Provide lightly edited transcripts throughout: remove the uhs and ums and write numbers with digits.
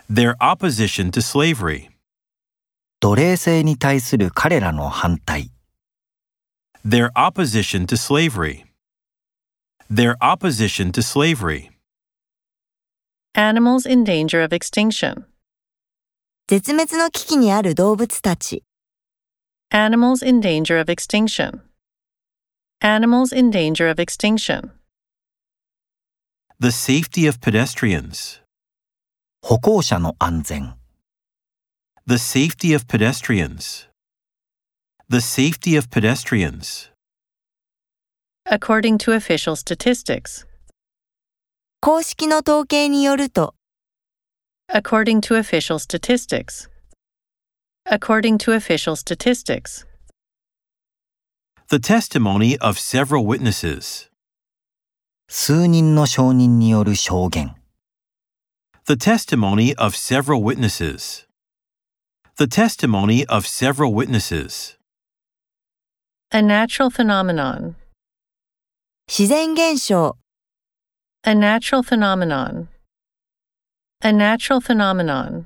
Their opposition to slavery. 奴隷制に対する彼らの反対。 Their opposition to slavery. Their opposition to slavery. Animals in danger of extinction. 絶滅の危機にある動物たち。 Animals in danger of extinction. Animals in danger of extinction. The safety of pedestrians. 歩行者の安全。 The safety of pedestrians. The safety of pedestrians. According to official statistics. 公式の統計によると、 According to official statistics. According to official statistics. The testimony of several witnesses. 数人の証人による証言。 The testimony of several witnesses. The testimony of several witnesses. A natural phenomenon. 自然現象。 A natural phenomenon. A natural phenomenon.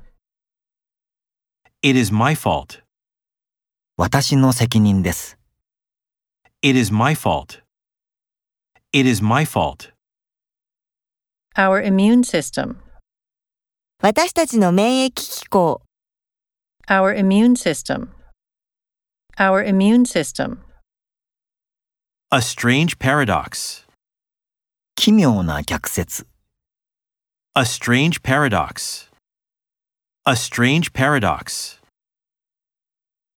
It is my fault. 私の責任です。 It is my fault. It is my fault. Our immune system. 私たちの免疫機構。 Our immune system. Our immune system. A strange paradox. 奇妙な逆説。 A strange paradox. A strange paradox.